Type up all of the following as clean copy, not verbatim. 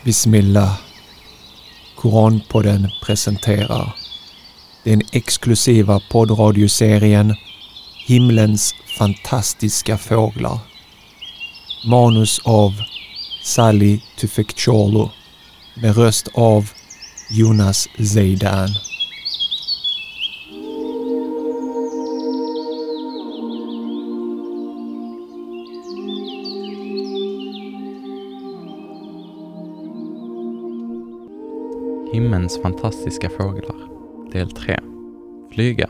Bismillah. Koranpodden presenterar den exklusiva poddradioserien Himlens fantastiska fåglar. Manus av Sally Tufekcioglu med röst av Jonas Zeidan. Himlens fantastiska fåglar, del 3. Flyga.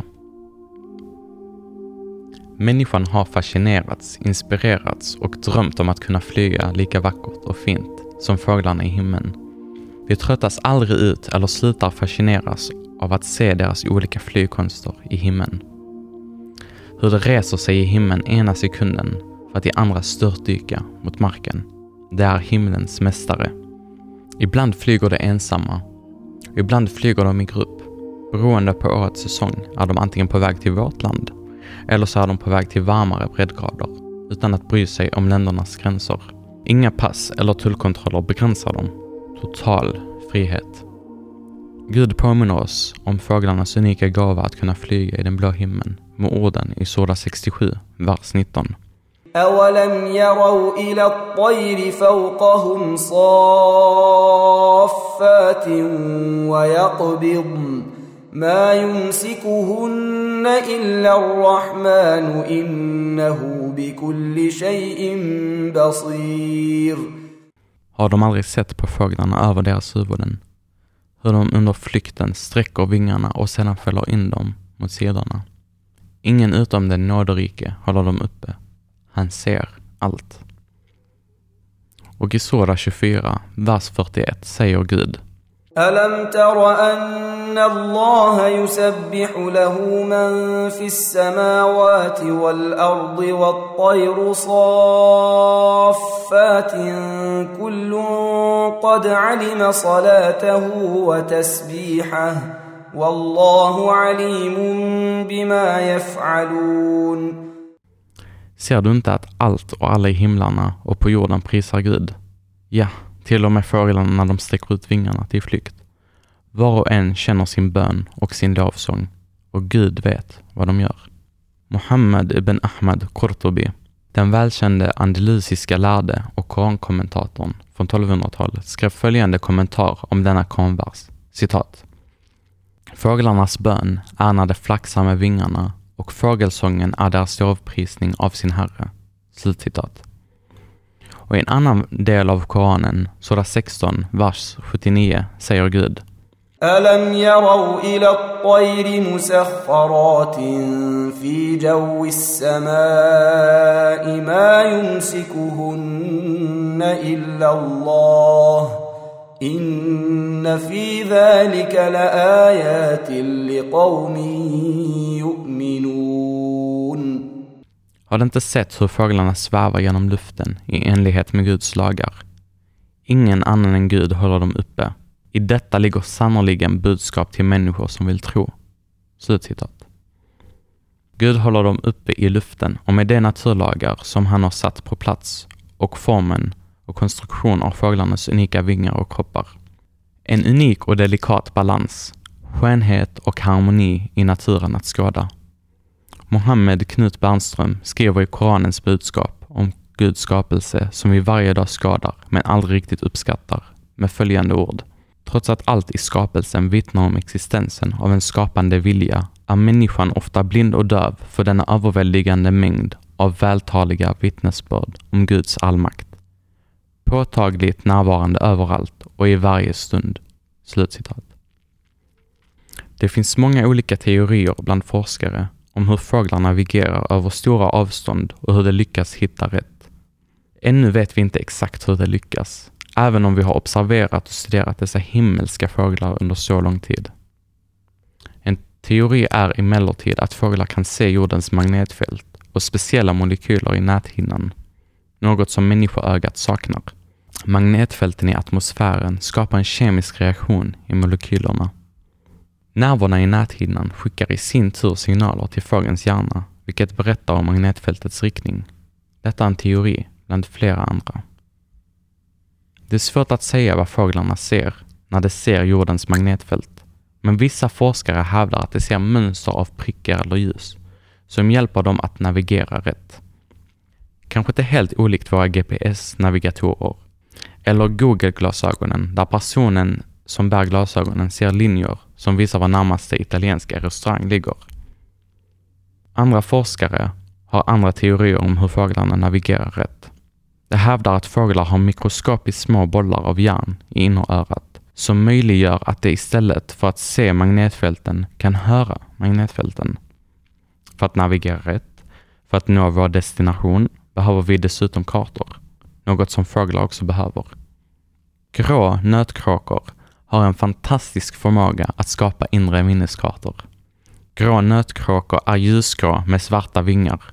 Människan har fascinerats, inspirerats och drömt om att kunna flyga lika vackert och fint som fåglarna i himlen. Vi tröttas aldrig ut eller slutar fascineras av att se deras olika flygkonster i himlen. Hur det reser sig i himlen ena sekunden för att i andra störtdyka mot marken. Det är himlens mästare. Ibland flyger de ensamma. Ibland flyger de i grupp. Beroende på årets säsong är de antingen på väg till vårt land eller så är de på väg till varmare breddgrader utan att bry sig om ländernas gränser. Inga pass eller tullkontroller begränsar dem. Total frihet. Gud påminner oss om fåglarnas unika gåva att kunna flyga i den blå himlen med orden i Sura 67, vers 19. أَوَلَمْ يَرَوْا إِلَى الطَّيْرِ فَوْقَهُمْ صَافَّاتٍ وَيَقْبِضْنَ مَا يُمْسِكُهُنَّ إِلَّا الرَّحْمَنُ إِنَّهُ بِكُلِّ شَيْءٍ بَصِيرٌ. Har de aldrig sett på fåglarna över deras huvuden? Hur de under flykten sträcker vingarna och sedan fäller in dem mot sidorna. Ingen utom den nåderike håller dem uppe. Han ser allt. Och i Sura 24, vers 41 säger Gud: أَلَمْ تَرَ أَنَّ اللَّهَ يُسَبِّحُ لَهُ مَنْ فِي السَّمَاوَاتِ وَالْأَرْضِ وَالطَّيْرُ صَافَّاتٍ كُلٌّ قَدْ عَلِمَ صَلَاتَهُ وَتَسْبِيحَهُ وَاللَّهُ عَلِيمٌ بِمَا يَفْعَلُونَ. Ser du inte att allt och alla i himlarna och på jorden prisar Gud? Ja, till och med fåglarna när de sträcker ut vingarna till flykt. Var och en känner sin bön och sin lovsång, och Gud vet vad de gör. Muhammad ibn Ahmad Qurtubi, den välkände andalusiska lärde och korankommentatorn från 1200-talet, skrev följande kommentar om denna koranvers. Citat: Fåglarnas bön är när de flaxar med vingarna och fågelsången är deras lovprisning av sin herre. Slutcitat. Och i en annan del av Koranen, Sura 16, vers 79, säger Gud: أَلَمْ يَرَوْا إِلَى الطَّيْرِ مُسَخَّرَاتٍ فِي جَوِّ السَّمَاءِ مَا يُمْسِكُهُنَّ إِلَّا اللَّهُ إِنَّ فِي ذَلِكَ لَآيَاتٍ لِقَوْمٍ يُؤْمِنُونَ. Har du inte sett hur fåglarna svävar genom luften i enlighet med Guds lagar? Ingen annan än Gud håller dem uppe. I detta ligger sannoliken budskap till människor som vill tro. Slutcitat. Gud håller dem uppe i luften och med de naturlagar som han har satt på plats och formen och konstruktion av fåglarnas unika vingar och kroppar. En unik och delikat balans, skönhet och harmoni i naturen att skåda. Mohammed Knut Bernström skriver i Koranens budskap om Guds skapelse som vi varje dag skadar men aldrig riktigt uppskattar med följande ord: Trots att allt i skapelsen vittnar om existensen av en skapande vilja är människan ofta blind och döv för denna överväldigande mängd av vältaliga vittnesbörd om Guds allmakt. Påtagligt närvarande överallt och i varje stund. Slutcitat. Det finns många olika teorier bland forskare om hur fåglar navigerar över stora avstånd och hur de lyckas hitta rätt. Ännu vet vi inte exakt hur de lyckas, även om vi har observerat och studerat dessa himmelska fåglar under så lång tid. En teori är emellertid att fåglar kan se jordens magnetfält och speciella molekyler i näthinnan, något som människoögat saknar. Magnetfälten i atmosfären skapar en kemisk reaktion i molekylerna. Nerverna i näthinnan skickar i sin tur signaler till fågelns hjärna, vilket berättar om magnetfältets riktning. Detta är en teori bland flera andra. Det är svårt att säga vad fåglarna ser när de ser jordens magnetfält, men vissa forskare hävdar att de ser mönster av prickar eller ljus som hjälper dem att navigera rätt. Kanske inte helt olikt våra GPS-navigatorer eller Google-glasögonen där personen som bär glasögonen ser linjer som visar var närmaste italienska restaurang ligger. Andra forskare har andra teorier om hur fåglarna navigerar rätt. De hävdar att fåglar har mikroskopiskt små bollar av järn i innerörat som möjliggör att de istället för att se magnetfälten kan höra magnetfälten. För att navigera rätt, för att nå vår destination, behöver vi dessutom kartor, något som fåglar också behöver. Grå nötkråkor har en fantastisk förmåga att skapa inre minneskartor. Grå nötkråkor är ljusgrå med svarta vingar.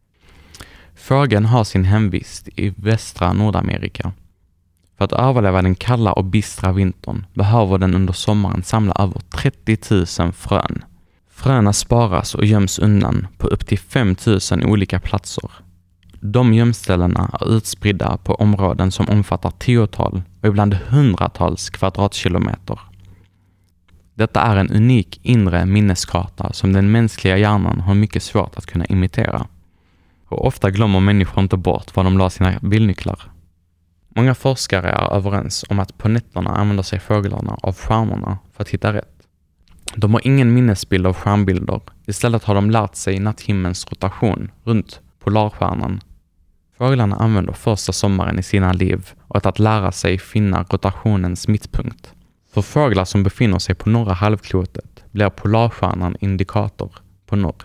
Fågeln har sin hemvist i västra Nordamerika. För att överleva den kalla och bistra vintern behöver den under sommaren samla över 30 000 frön. Fröna sparas och göms undan på upp till 5 000 olika platser. De gömställena är utspridda på områden som omfattar 10-tal och ibland 100-tals kvadratkilometer. Detta är en unik inre minneskarta som den mänskliga hjärnan har mycket svårt att kunna imitera. Och ofta glömmer människor inte bort var de la sina bilnycklar. Många forskare är överens om att på nätterna använder sig fåglarna av stjärnorna för att hitta rätt. De har ingen minnesbild av stjärnbilder. Istället har de lärt sig natthimmelens rotation runt polarstjärnan. Fåglarna använder första sommaren i sina liv och att lära sig finna rotationens mittpunkt. För fåglar som befinner sig på norra halvklotet blir polarstjärnan indikator på norr.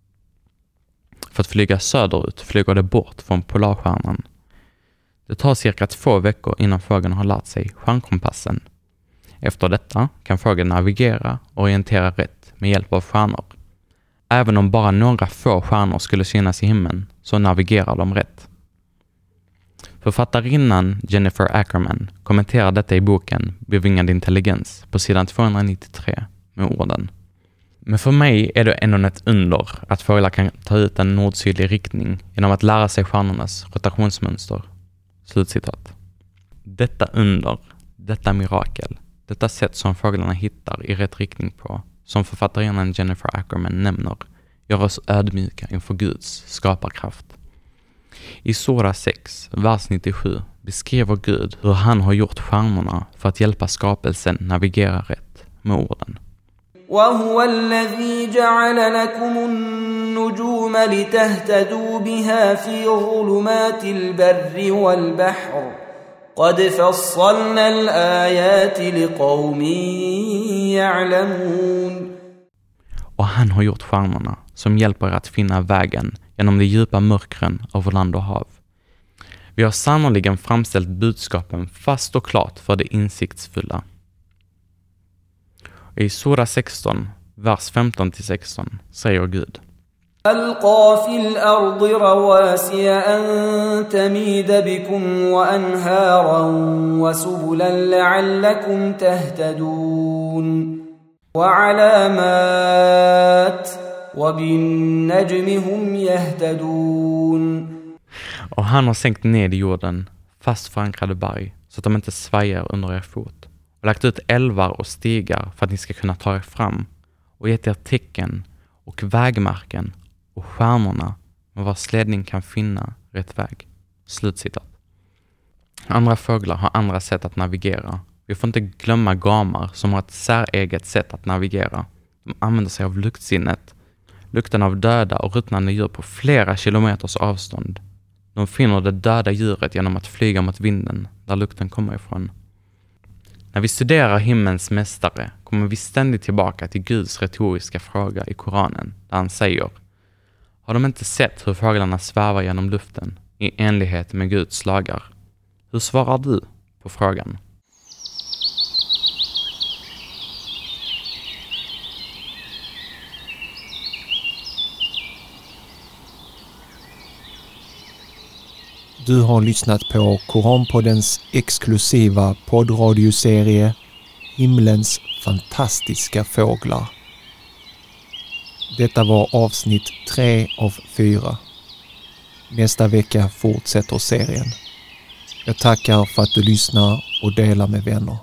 För att flyga söderut flyger det bort från polarstjärnan. Det tar cirka 2 veckor innan fågeln har lärt sig stjärnkompassen. Efter detta kan fågeln navigera och orientera rätt med hjälp av stjärnor. Även om bara några få stjärnor skulle synas i himlen så navigerar de rätt. Författarinnan Jennifer Ackerman kommenterar detta i boken Bevingad intelligens på sidan 293 med orden: Men för mig är det ändå ett under att fåglar kan ta ut en nord-sydlig riktning genom att lära sig stjärnornas rotationsmönster. Slutcitat. Detta under, detta mirakel, detta sätt som fåglarna hittar i rätt riktning på, som författarinnan Jennifer Ackerman nämner, gör oss ödmjuka inför Guds skaparkraft. I Sura 6, vers 97 beskriver Gud hur han har gjort stjärnorna för att hjälpa skapelsen navigera rätt med orden: وهو الذي جعل لكم النجوم لتهتدوا بها في ظلمات البر والبحر قد فصلنا الآيات لقوم يعلمون. Och han har gjort stjärnorna som hjälper att finna vägen genom de djupa mörkren över land och hav. Vi har sannoliken framställt budskapen fast och klart för det insiktsfulla. I Sura 16, vers 15-16 säger Gud: ألقى في الأرض رواسي أن تميد بكم وأنهارا وسبلا لعلكم تهتدون وعلامات وبالنجم هم يهتدون. Och han har sänkt ned i jorden fast förankrade berg så att de inte svajar under er fot, och lagt ut älvar och stigar för att ni ska kunna ta er fram, och gett er tecken och vägmärken och stjärnorna med vars ledning kan finna rätt väg. Slutcitat. Andra fåglar har andra sätt att navigera. Vi får inte glömma gamar som har ett säreget sätt att navigera. De använder sig av luktsinnet, lukten av döda och ruttnande djur på flera kilometers avstånd. De finner det döda djuret genom att flyga mot vinden där lukten kommer ifrån. När vi studerar himmelens mästare kommer vi ständigt tillbaka till Guds retoriska fråga i Koranen, där han säger: Har de inte sett hur fåglarna svävar genom luften i enlighet med Guds lagar? Hur svarar du på frågan? Du har lyssnat på Koranpoddens exklusiva poddradioserie Himlens fantastiska fåglar. Detta var avsnitt 3 av 4. Nästa vecka fortsätter serien. Jag tackar för att du lyssnar och delar med vänner.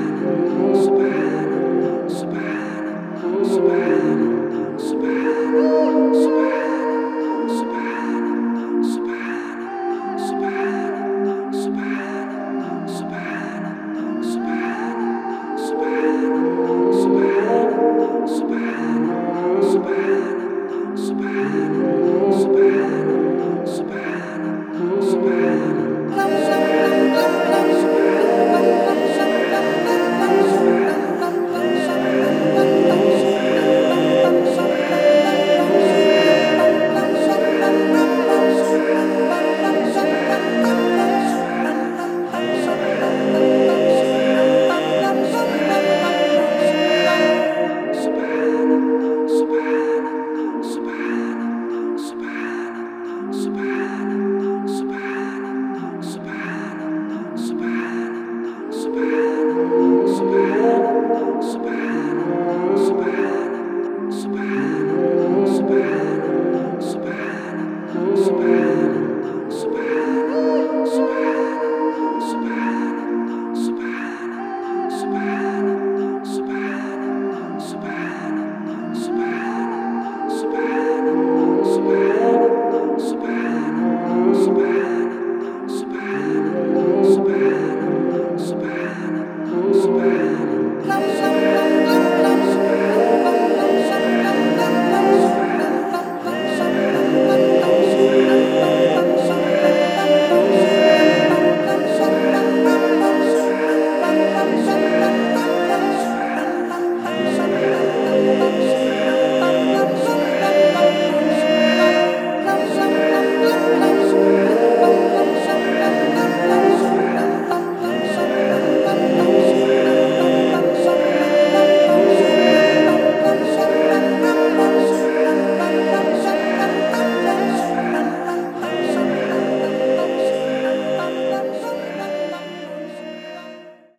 Subhana,